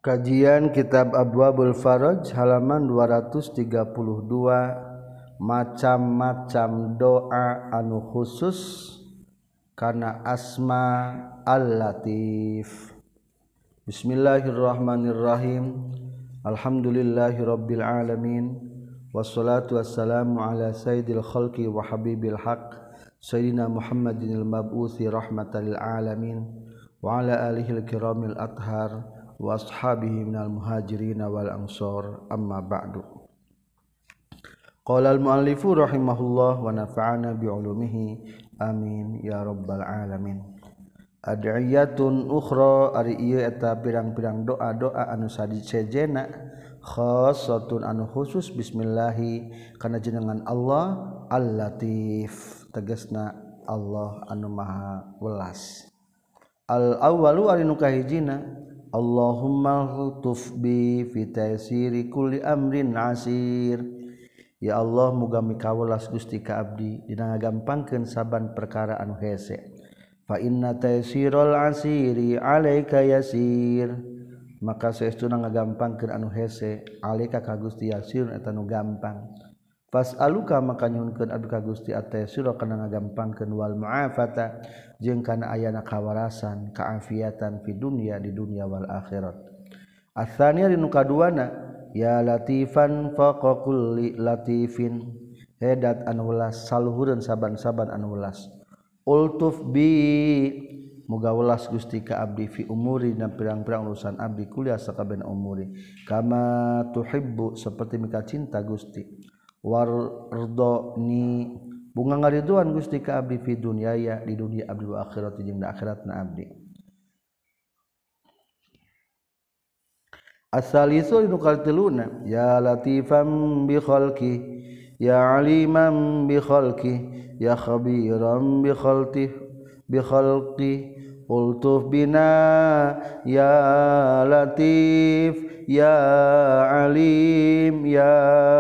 Kajian Kitab Abwabul Faraj halaman 232. Macam-macam doa anu khusus kana asma Al-Latif. Bismillahirrahmanirrahim. Alhamdulillahirabbil alamin. Wassalatu wassalamu ala sayyidil khalqi wa habibil haq sayyidina Muhammadinil mab'uthi rahmatan lil alamin wa ala alihil kiramil athhar wa ashabihi minal muhajirin wal ansor, amma ba'du. Qala al-muallifu rahimahullah wa nafa'ana bi'ulumihi amin ya rabbal alamin. Ad'iyatun ukhra ari ieu eta pirang-pirang doa-doa anu sadicejena khassatun anu khusus bismillahi kana jenengan Allah Al-Latif, tegasna Allah anu maha welas. Al-awwalu ari nu kahijina Allahumma lutuf bi fi taysiri kulli amrin asir. Ya Allah, muga mikawelas Gusti ka abdi dina ngagampangkeun saban perkara anu hese. Fa inna taysiral asiri alaika yasir. Maka saestuna ngagampangkeun anu hese alaika ka Gusti yasir eta nu gampang. Fas'aluka maka nyuhunkeun abdi ka Gusti at-taysira kana ngagampangkeun wal mu'afata jeung kana ayana kawarasan kaafiatan fi dunya di dunya wal akhirat. Ats-tsaniya nu kaduana ya latifan faqa kulli latifin hedat anu welas saluhureun saban-saban anu welas. Ultuf bi muga welas Gusti ka abdi fi umuri dan pirang-pirang urusan abdi kuliah sakabehna umuri kama tuhibbu saperti mika cinta Gusti. Wardoni bunga ngariduan Gusti ka abdi fi dunyaya di dunia abdi wa akhirat jeung di akhiratna abdi. As-salisu inu kaltiluna ya latifan bi khalqi ya aliman bi khalqi ya khabiran bi khalqi ultuf bina ya latif ya alim ya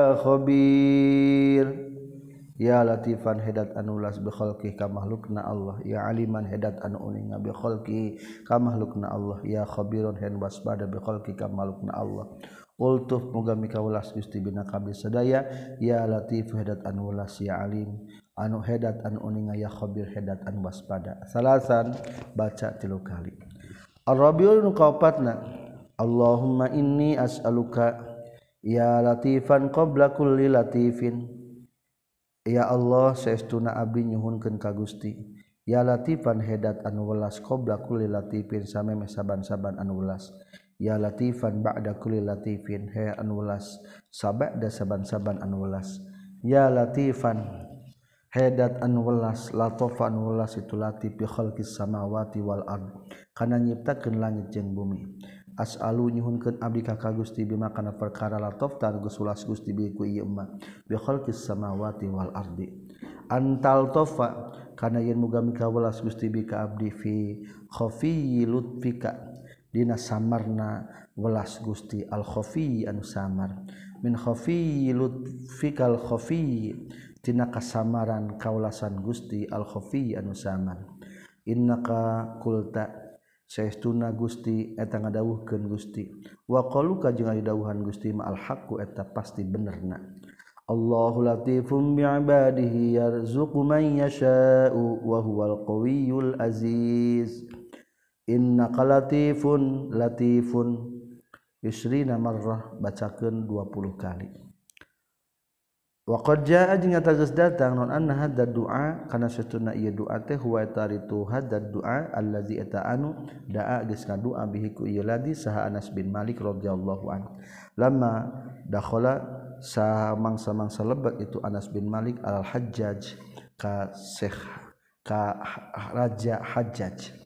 khabir. Ya latifan hedat anu ulas bi khalqi ka makhlukna Allah, ya aliman hedat anu uning bi khalqi ka makhlukna Allah, ya khabiron hen waspada bi khalqi ka makhlukna Allah. Ultuf muga mikaulas Gusti bina kabeh sadaya, ya latif hedat anu ulas, ya alim anu hedat anu uning, ya khabir hedat anu waspada. Salasan baca 3 kali. Ar-rabiul nu kaopatna Allahumma inni as'aluka ya latifan qabla kulli latifin. Ya Allah, saestuna abdi nyuhunkeun ka Gusti ya latifan hedat anu welas qabla kulli latifin sameme saban-saban anu welas. Ya latifan ba'da kulli latifin he anu welas sabada saban-saban anu welas. Ya latifan hedat anu welas latofa anu welas itu latif bi khalqis samawati wal ard kana nyiptakeun langit jeung bumi. As'alu nyuhunkeun abdi ka Gusti bima kana perkara latof tar geus ulas Gusti bi ku ieu mah bi khalqis samawati wal ardi. Antal tofa kana yen muga mikawelas Gusti bi ka abdi fi khafiyyi lutfika dina samarna welas Gusti al khafiyyi anu samar min khafiyyi lutfikal khafiyyi tina kasamaran kaulasan Gusti al khafiyyi anu samar. Innaka qulta saestuna Gusti eta ngadawuhkeun Gusti wa qaluka jeung dawuhan Gusti ma al haqqu eta pasti benerna. Allahu latifum bi ibadihi yarzuqu man yasha'u wa huwal qawiyyul aziz. Innaka latifun yusrina marrah bacakeun 20 kali. Wa qad jaa jeung eta geus datang non anna hadza du'a kana satuna ieu doa teh huwa taritu hadza du'a allazi eta anu da'a geus ngadua bihi ku ieu ladi saha Anas bin Malik radhiyallahu anhu lamma dakhala samangsa lebat itu Anas bin Malik al Hajjaj ka raja Hajjaj.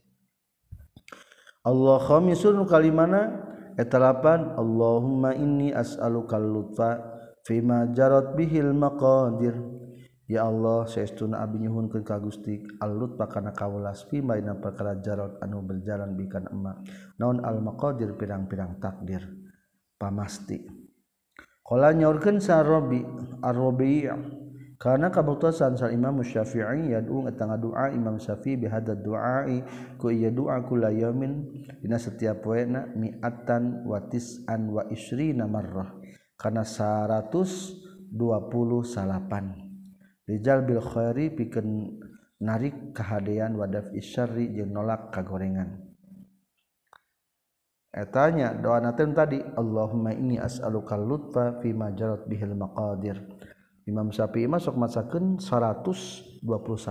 Allah khamisun kalimana eta lapan Allahumma inni as'aluka lutfa fima jarat bihil maqadir. Ya Allah, saestuna abdi nyuhunkeun ka Gusti al-lutfa kana kawelas fima dina perkara jarat anu berjalan bikan emma naon al-maqadir pirang-pirang takdir pamasti. Qala nyaurkeun sa Rabi ar-Rabi' karena kabuktosan sal Imam Syafi'i yad'u ngatanga doa Imam Syafi'i bihadad du'ai ku ieu doa kula yaumin dina setiap poena mi'atan wa tis'an wa isrina marrah kana 128 rijal bil khairi pikeun narik kahadean wa daf'i syarri jeung nolak kagorengan etanya doa naten tadi Allahumma inni as'aluka lutfa fi ma jarat bihil maqadir Imam Syafi'i masuk masakeun 128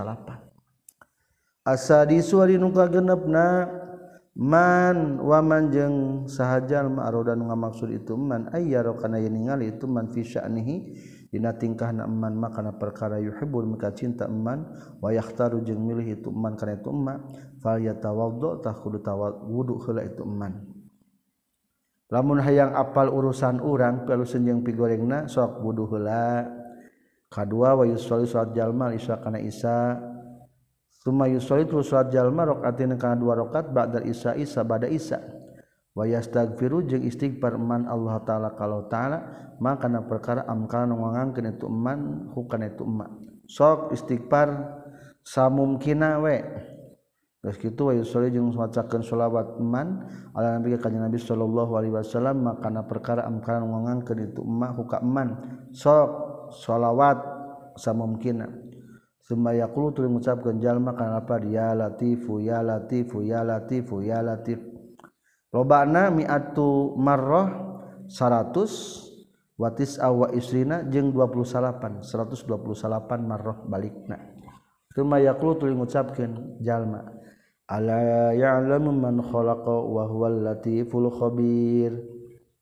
asadisu ari nu kagenepna man wa man jeung sahajal ma'roda nu ngamaksud itu man ayyaro kana ningali itu man fi sya'nihi dina tingkahna man makana perkara yuhibbul mika cinta man wa yakhtaru jeung milih itu man kana itu man fal yatawaddo tah kudu wudu heula itu man lamun hayang apal urusan urang pialuseun jeung pigorengna sok wudu heula kadua wa yusolli salat jalma isya kana isya summa yusolli tu salat jalma rakaatin kana 2 rakaat ba'da isya bada isya wa yastaghfiru jeung istighfar man Allah taala kalau taala maka kana perkara amkana ngangkeun itu man hukana itu man sok istighfar samumkina we geus kitu wa yusolli jeung macakeun shalawat man ala nabi ka Nabi sallallahu alaihi wasallam maka kana perkara amkana ngangkeun itu man hukana man sok shalawat samumkina summa yaqulu tu mengucapkeun jalma kana apa ya latifu ya latifu ya latifu ya latif lobana mi'atu marrah 100 wa tis'a wa isrina jeung 128 marrah balikna summa yaqulu tu mengucapkeun jalma ala ya'lamu man khalaqa wa huwal latiful khabir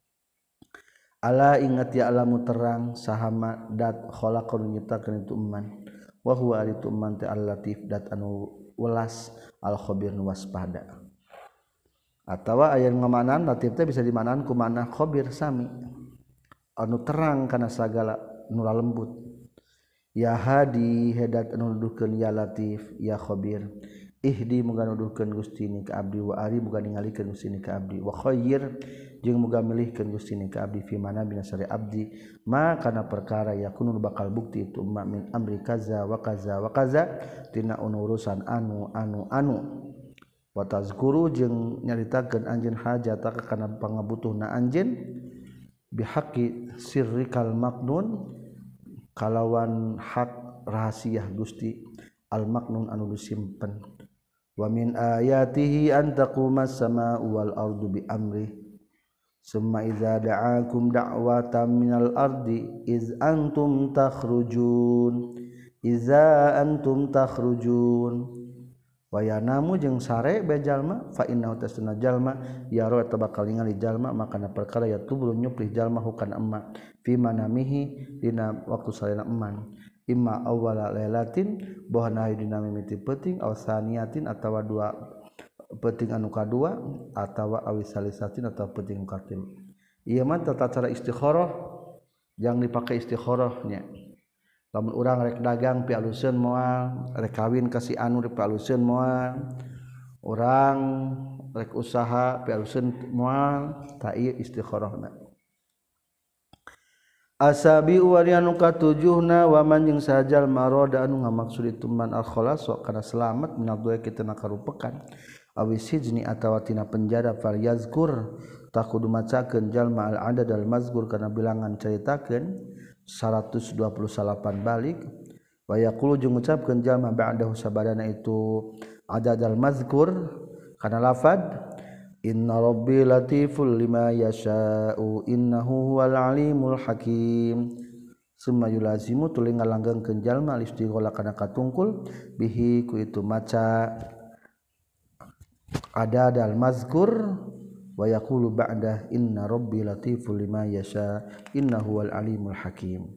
ala ingat ya alamu terang sahama dat khalaqan nyiptakeun itu man wa huwa itu man ta al-latif dat anu welas al-khabir nu waspada atawa aya ngamanan latif teh bisa dimanan ku mana khabir sami anu terang kana sagala nu lembut ya hadi hedat anu nuduhkeun ya latif ya khabir ihdi muga nuduhkeun Gusti ni ka abdi wa ari muga ningalikeun Gusti ni ka abdi wa khair jeung muga milihkeun Gusti ni ka abdi fi mana binasari abdi ma kana perkara yakunu bakal bukti itu ma min amri kaza wa kaza wa kaza tina urusan anu wa tazkuru jeung nyaritakeun anjeun hajataka kana pangabutuhna anjeun bihaqqi sirrikal maknun kalawan hak rahasia Gusti al maknun anu disimpen wa min ayatihi an taqumas samaa'u wal ardu bi amri summa idza da'akum da'watan minal ardi iz antum takhrujun wa yanamu jeung sare be jalma fa innahu tasna jalma yaro eta bakal ningali jalma makana perkara ya tubul nyuplih jalma hukana emma fi manamihi dina waktu salena emman imma awwala lailatin bohana dina mimiti peuting aw saniyatin atawa 2 peuting anu kadua atawa awisalisatin atawa peuting katilu ieu mah tata cara istikharah yang dipakai istikharah nya lamun urang rek dagang pialuseun moal rek kawin ka si anu rek pialuseun moal urang rek usaha pialuseun moal ta ieu istikharahna asabi warianu katujuhna wa man jeung sajal maroda anu ngamaksud itu man al khalas kana selamat minal doa kita nakarupekan awis hijni atawa tina penjara fal yazkur takudu macakeun jalma al adad al mazkur kana bilangan caritakeun 128 balik wa yaqulu jeung ngucapkeun jalma ba'dahu sabadana itu adad al mazkur kana lafad inna rabbi latiful lima yasha'u innahu huwal alimul hakim summa yulazimu tuluy ngalanggengkeun jalma istighola kana katungkul bihi ku itu maca adadal mazkur wa yaqulu ba'da inna rabbi latiful lima yasha innahu huwal alimul hakim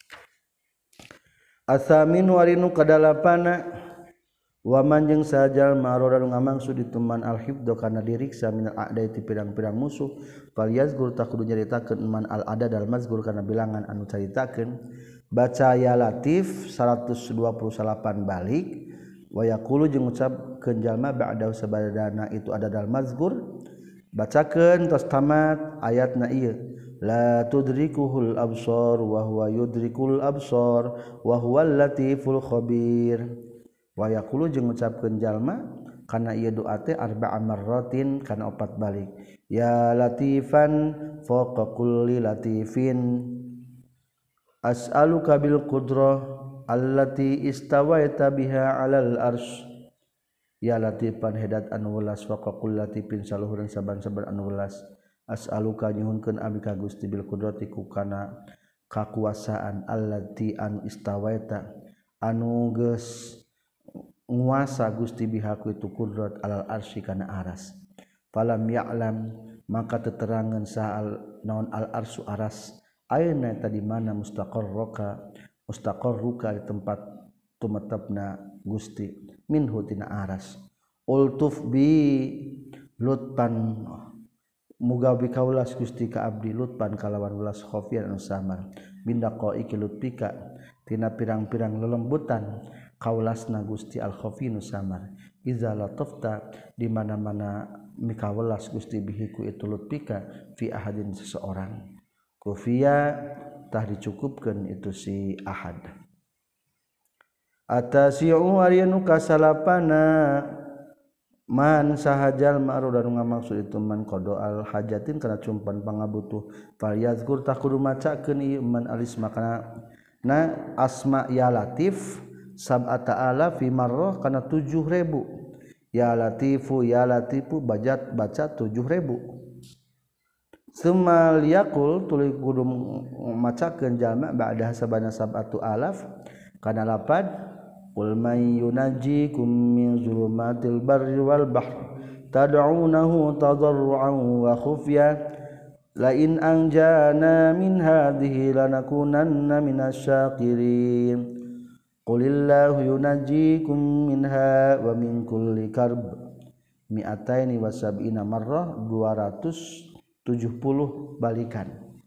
asamin warinu kadalapana wa man jeung sajal maroda ngamangsud dituman al hibdu kana diriksa minal a'dai ti pirang-pirang musuh fal yazkur takudu nyaritakeun man al adad al mazkur kana bilangan anu caritakeun baca ya latif 128 balik wa yaqulu jeung ngucapkeun jalma ba'da sabadana itu adad al mazkur bacakeun tos tamat ayatna ieu la tudrikuhul absar wa huwa yudrikul absar wa huwal latiful khabir wa yaqulu jeung ngucapkeun jalma kana ieu doa teh arba'a marratin kana 4 balik ya latifan fawqa kulli latifin as'aluka bil qudrah allati istawaita biha 'alal arsy ya latifan hedat anu welas fawqa kulli latifin saluhureun saban-saban anu welas as'aluka nyuhunkeun abdi ka Gusti bil qudrati ku kana kakuasaan allati anu istawaita anu geus nguasa Gusti biha ku itu qudrat alal arsy kana aras falam ya'lam maka teterangan saal naon al arsy aras ayeuna eta di mana mustaqarruka di tempat tumetepna Gusti minhu tina aras ultuf bi lutpan muga bikaulas Gusti ka abdi lutpan kalawan ulas khofian anu samar binda qaiki lutpika tina pirang-pirang lelembutan kaulasna Gusti al khofinu samar iza latafta di mana-mana mikawelas Gusti bihiku itu lutpika fi ahadin seseorang kufiya tah dicukupkeun itu si ahad atasiu ariyanu kasalapana man sahajal ma'ruf dan ngamaksud itu man qada al hajatin kana cumpan pangabutuh fal yazkur takudu macakeun ieu man alisma kana na asma ya latif sab'ata ala fi marrah kana 7000 ya latifu baca 7000 sumal yaqul tuluy kudu macakeun jalma ba'da sabana sab'atu alaf kana lapad qul may yunajjikum min zulumatil barri wal bahr tad'unahu tadarruan wa khufya la in anjana min hadhihi lanakunanna minasyakirin qulillahu yunajjikum minha wa min kulli karb mi'ataini wa sab'ina marrah 270 balikan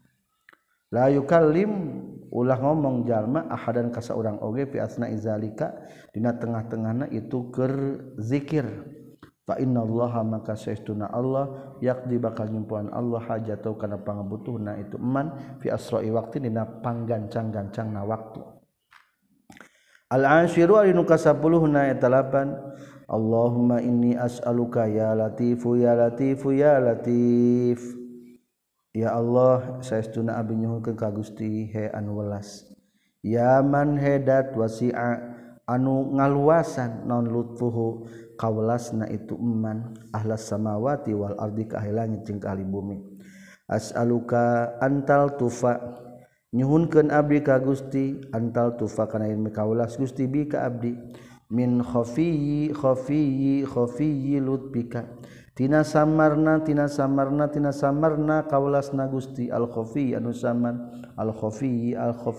la yukallim ulah ngomong jalma ahadan ka saurang oge fi asna izalika dina tengah-tengahna itu keur zikir fa innallaha maka saestuna Allah yaqdi bakal nyimpuan Allah hajatau kana pangabutuhna itu eman fi asra'i waqti dina panggancang-gancangna waktu al-ashiru alinu kasapuluhna eta 8 Allahumma inni as'aluka ya latifu ya latifu ya latif ya Allah saestuna abdi nyuhunkeun ka Gusti he anu welas ya man hedat wasi'a anu ngaluasan non lutfuhu kawelasna itu eman ahlas samawati wal ardi ka langit jeung ka ahli bumi as'aluka antal tufa nyuhunkeun abdi ka Gusti antal tufa kana yen kawelas Gusti bi ka abdi min khafiyyi lutfika tina samarna kaulasna Gusti al khafi anu samar al khafi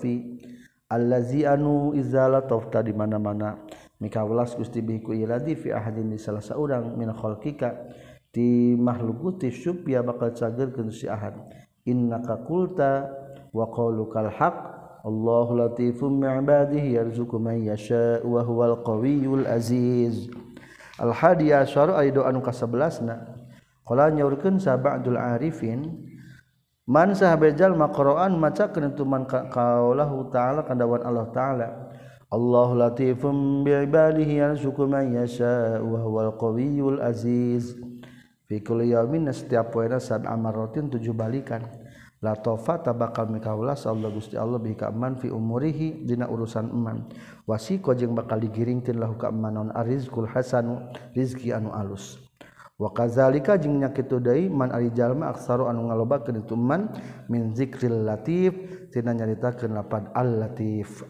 allazi anu izala tafta di mana-mana mikaulas Gusti biku iladi fi ahadin di salah saurang min khalqika ti makhluk ti syubya bakal cagerkeun si ahad innaka qulta wa qaulukal haq Allahu latifum bi'ibadihi yarzuqu man yasha wa huwal qawiyul aziz al-hadi asyara ayat anu ka-11 qala nyaurkeun sab'dul arifin man sahabe jalma qura'an macakeun tu man qaulahu ta'ala kandawan Allah ta'ala Allahu latifum bi'ibadihi yarzuqu man yasha wa huwal qawiyul aziz fi kulli yaumin setiap poena sab'a marratin 7 balikan la tafata bakal mikaulas Allah Gusti Allah bihi ka man fi umurihi dina urusan eman wasiqo jeung bakal digiringkeun lahu ka man naon arizqul hasanu rizki anu alus wa kadzalika jeung nya kitu deui man ari jalma aksaru anu ngalobakeun itu man min zikril latif tina nyaritakeun lapad al latif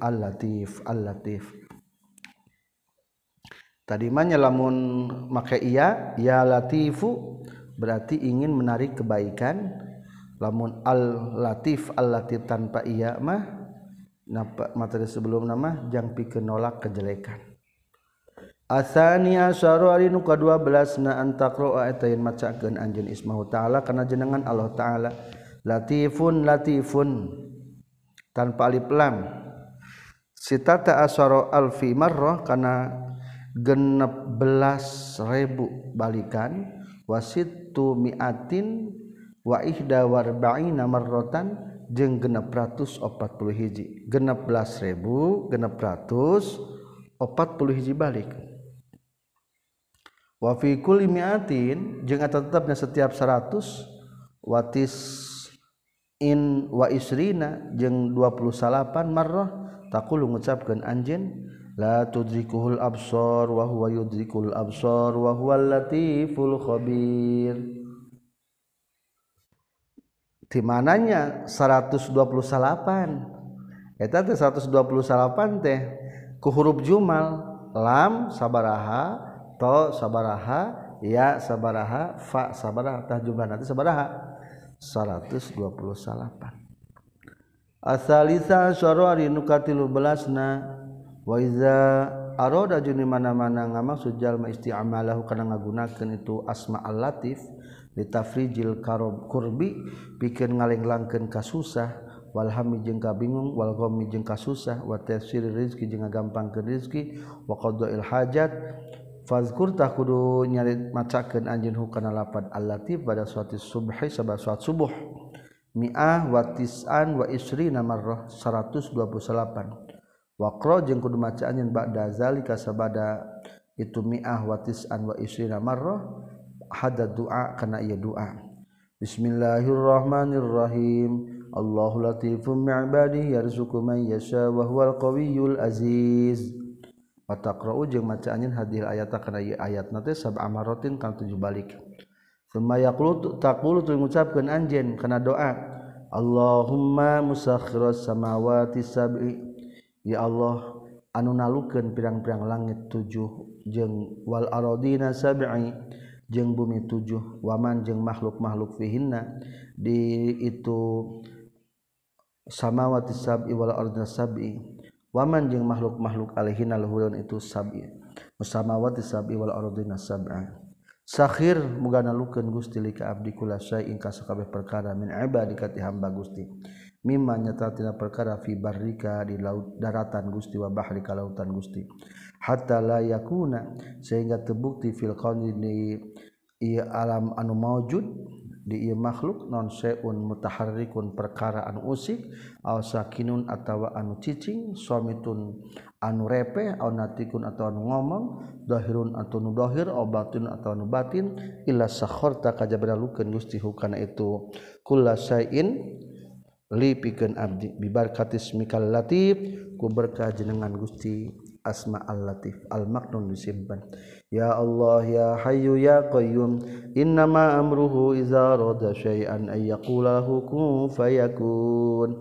tadi mah lamun make iya ya latifu berarti ingin menarik kebaikan lamun al-latif tanpa iya mah materi sebelum nama jang pikeun nolak kejelekan asani asyara alinu ka-12 na antaqra eta yen macakeun anjeun ismahu ta'ala kana jenengan Allah ta'ala latifun tanpa alif lam sitata asyara alfi marrah kana 16.000 balikan wasittu mi'atin wa ihda warba'ina marratan jeung 640 hiji 16.640 hiji balik wa fi kulli mi'atin jeung eta tetepna setiap 100 watis in wa isrina jeung 28 marrah taqulu ngucapkeun anjeun la tudrikuhul absar wa huwa yudrikul absar wa huwal latiful khabir. Di mananya 128 eta teh 128 teh ku huruf jumal lam sabaraha to sabaraha ya sabaraha fa sabaraha tah jumlah nanti sabaraha 128 asalisa syara nu katilu belasna wa iza arada jeung mana-mana ngamaksud jalma isti'malahu kana ngagunakeun itu asma al-latif litafrijil kurbi pikeun ngalenglangkeun kasusah wal hammi jeung kabingung wal ghammi jeung kasusah wa tafsir rizqi jeung ngagampangkeun rizqi wa qadail hajat fazkur tah kudu nyari macakeun anjeun hukana lapad al-latif pada suatu subhi sabab salat subuh mi'ah wa tis'an wa isrina marrah 128 waqra jeung kudu maca anjeun ba'da zalika sabada itu mi'ah wa tis'an wa isrina marrah hada doa kana ieu doa bismillahirrahmanirrahim Allahu latifum bi'ibadihi yarzuqu man yasha wa huwal qawiyyul aziz wa taqra'u jeung maca anjeun hadhihi ayata kana ieu ayatna teh sab'a maratin kana 7 balik summa yaqulu taqulu tu ngucapkeun anjeun kana doa Allahumma musakhiras samawati sab'i ya Allah anu nalukeun pirang-pirang langit 7 jeung wal aradina sab'i jeung bumi 7 waman jeung makhluk-makhluk fihinna di itu samawati sab'i wal ardina sab'i waman jeung makhluk-makhluk alaihinna luhurun itu sab'i samawati sab'i wal ardina sab'a sakhir muga nalukeun Gusti lika abdi kula syai'in ka sakabeh perkara min ibadika ti hamba Gusti mimma nyata tina perkara fi barrika di laut daratan Gusti wa bahrika lautan Gusti hatta la yakuna sehingga terbukti fil qauni di ieu alam anu maujud di ieu makhluk non seun mutaharrikun perkara anu usik aw sakinun atawa anu cicing somitun anu repe aw natikun atawa anu ngomong zahirun atau nu zahir aw batin atawa anu batin illa sakharta kajaba dalukeun Gusti hukana itu kullasain li pikeun abdi bi barakatis mikal latif ku berkah jenengan Gusti asma al-latif al-maknun disimpan ya Allah ya hayyu ya qayyum innama amruhu iza rada syai'an ay yaqula lahu kun fayakun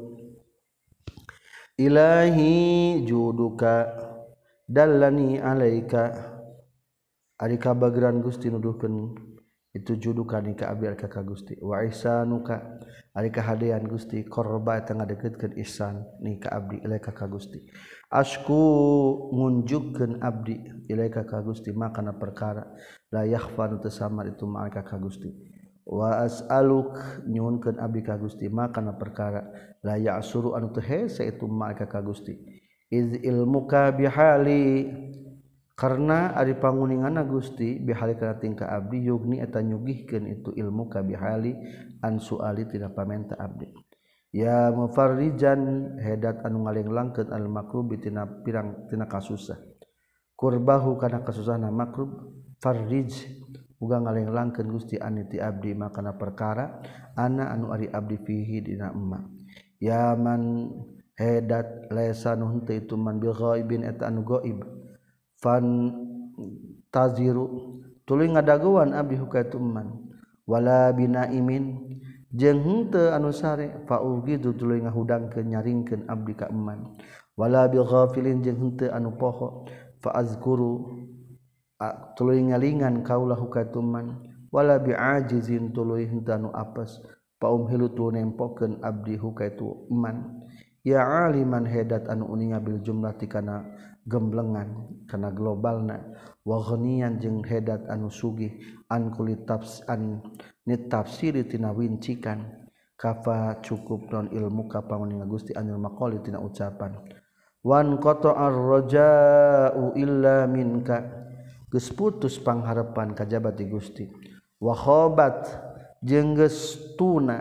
ilahi juduka dallani alaika ari kabageran Gusti nuduhkeun itu juduka ni ka abdi ka Gusti wa ihsanuka ari kahadean Gusti korba eta ngadeukeutkeun ihsan ni ka abdi ilaika ka Gusti asku ngunjukkeun abdi ilaika ka Gusti makana perkara la yakhfa teu samar itu maka ka Gusti wa as'aluk nyuhunkeun abdi ka Gusti makana perkara la ya'suru anu teu hese itu maka ka Gusti iz ilmuka bihali karena ari panguninganna Gusti bihali kana tingkah abdi yugni eta nyugihkeun itu ilmuka bihali an suali tina pamenta abdi ya mufarrijan hedat anu ngalenglangkeun al makrubi tina pirang tina kasusah kurbahu kana kasusahna makrub farrij uga ngalenglangkeun Gusti aniti abdi makana perkara ana anu ari abdi fihi dina emma ya man hedat laisa nu henteu itu man bil ghaibin eta anu gaib fan taziru tuluy ngadaguan abdi hukaitu man wala binaimin jeung henteu anu sare faugidu tuluy ngahudangkeun nyaringkeun abdi ka eman wala bil ghafilin jeung henteu anu poho fa azkuru tuluy ngalingan kaula hukaitu man wala bi'ajizin tuluy henteu anu apes fa umhilu tu nempokeun abdi hukaitu eman ya aliman hedat anu uninga bil jumlati kana gemblengan kana globalna wa ghaniyan jeung hedat anu sugih an kulit tafsan nit tafsiri tina wincikan kafa cukup non ilmu ka panguninga Gusti anil maqali tina ucapan wan qata'ar raja'u illa minka geus putus pangharepan kajaba ti Gusti wa khabat jeung geus tuna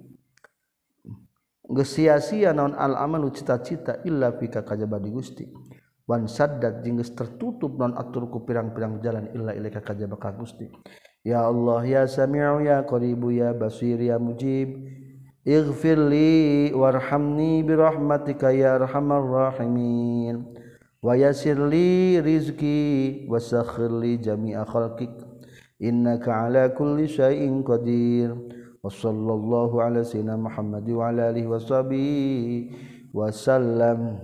geus sia-sia naon al amalu cita-cita illa fika kajaba di Gusti wan saddat jeung geus tertutup naon atur ku pirang-pirang jalan illa ilaika kajaba ka Gusti ya Allah ya Sami'u ya Qaribu ya Basir ya Mujib ighfirli warhamni birahmatika ya arhamar rahimin wa yassirli rizqi wasakhkhirli jami'a khalqik innaka ala kulli syai'in qadir wa sallallahu ala sayyidina Muhammad wa ala alihi washabihi wasallam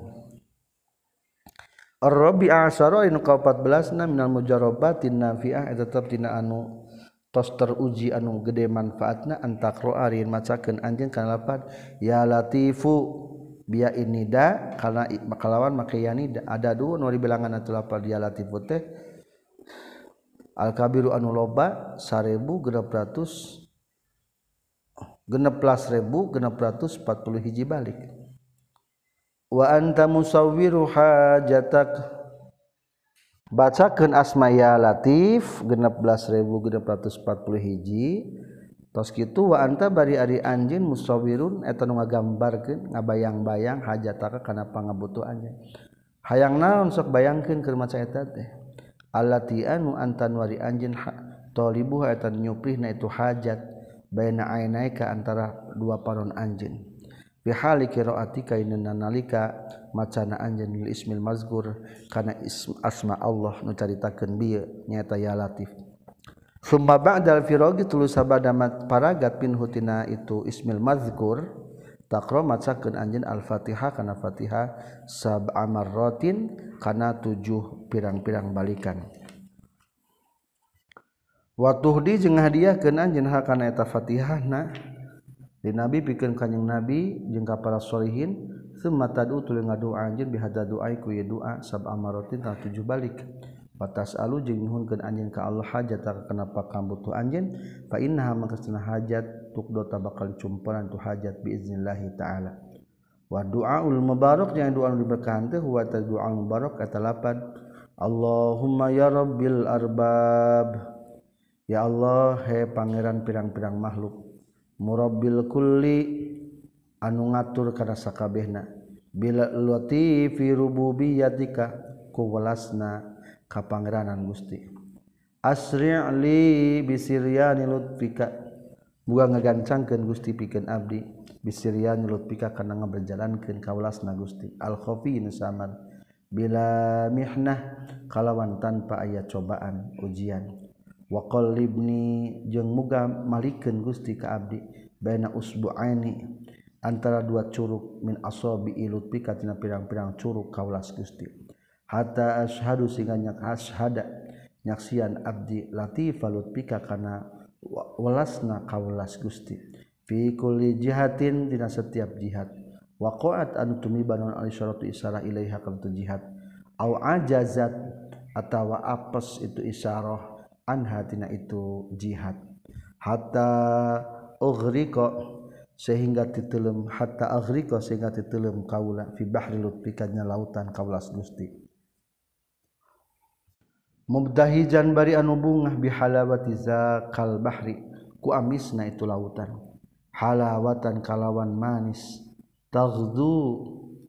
Ar-Rabi' asyara inu ka-14 minal mujarrabatin nafi'ah eta tetep tina anu tos teruji anu gede manfaatna antakro arin macakeun anjeun kana lafaz ya latifu biya inida kana kalawan make yanida ada dua nu dibilangan atu lafaz ya latifu teh al kabiru anu loba 16.640 hiji balik wa anta musawwiru hajatak bacakeun asma ya latif 16.640 hiji tos kitu wa anta bari ari anjeun musawwirun eta nu ngagambarkeun ngabayang-bayang hajataka kana pangabutuhannya hayang naon sok bayangkeun keur maca eta teh allati anu anta nuari anjeun talibuha eta nyuprihna itu hajat baina ainaika antara dua paron anjeun fi hali qiraatika inna nalika macana anjeun lil ismil mazkur kana asma Allah nu caritakeun bieu nyaeta ya latif summa ba'dal firagi tulu sabada paragat pinhu tina itu ismil mazkur taqra macakeun anjeun al-fatihah kana fatihah sab'a marratin kana 7 pirang-pirang balikan wa tuhdi jeung hadiahkeun anjeun hakana eta Fatihahna di Nabi pikeun kanjing Nabi jeung ka para sholihin summa tad'u tuluy ngadoa anjeun bihadza du'a ku doa sab'a maratin 7 balik batas alu jeung nyuhunkeun anjeun ka Allah hajataka kana pakambutuh anjeun fa innaha makasna hajat tuqdota bakal cumpuran tu hajat biiznillah taala wa du'aul mubarak jeung doa nu diberkahan teh huwa du'aul mubarak kata lapan Allahumma ya rabbil arbab ya Allah he pangeran pirang-pirang makhluk murabbil kulli anu ngatur kana sakabehna bila latifi rububiyatika ku welasna ka pangeranan Gusti asri' li bisiryani lutfika muga ngagancangkeun Gusti pikeun abdi bisiryani lutfika kana ngaberjalankeun ka welasna Gusti al khafi nusaman bila mihnah kalawan tanpa aya cobaan ujian wa qallibni jeung muga malikeun Gusti ka abdi baina usbu'aini antara dua curug min asabi lutfika tina pirang-pirang curug kaulas Gusti hatta asyhadu sehingga nyak asyhada nyaksian abdi latifa lutfika kana welasna kaulas Gusti fi kulli jihatin dina setiap jihad waqa'at anu tumiban al isyaratu isyarah ilaiha kana jihad au ajazat atawa apes itu isyarah anha tina itu jihad hatta ughriqa sehingga titeuleum hatta aghriqa sehingga titeuleum kaula fi bahri lutfika nya lautan kaulas Gusti mubdahijan bari anu bungah bihalawati zakal bahri ku amisna itu lautan halawatan kalawan manis taghdu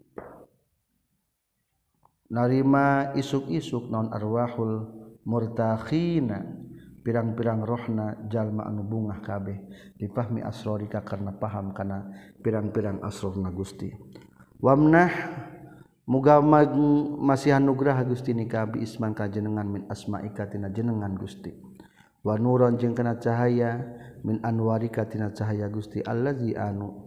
narima isuk-isuk naon arwahul murtakhina pirang-pirang rohna jalma anu bungah kabeh dipahmi asrorika karena paham kana pirang-pirang asrorna Gusti wamnah muga masih anugerah Gusti ni ka abi isman ka jenengan min asmaika tina jenengan Gusti wa nuron jeung kana cahaya min anwarika tina cahaya Gusti allazi anu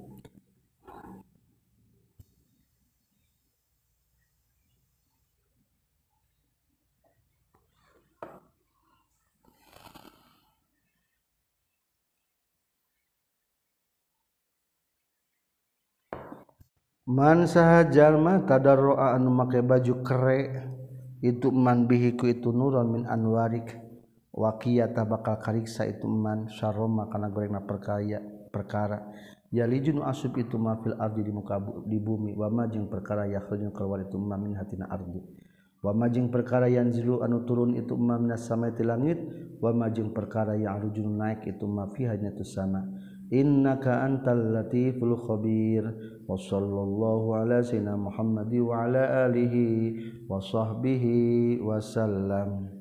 man saha jalma tadarroa anu make baju kere itu man bihiku itu nuron min anwarik waqiyata bakal kariksa itu man syaroma kana gorengna perkara yalijun asub itu ma fil ardi di muka di bumi wa ma jeung perkara yakhrujun keluar itu ma min hatina ardi wa ma jeung perkara yanzilu anu turun itu ma minas samai ti langit wa majeng perkara yang rujun naik itu mafihanya tu sana innaka antal latiful khabir wa sallallahu ala sayyidina Muhammad wa ala alihi wa sahbihi wasallam.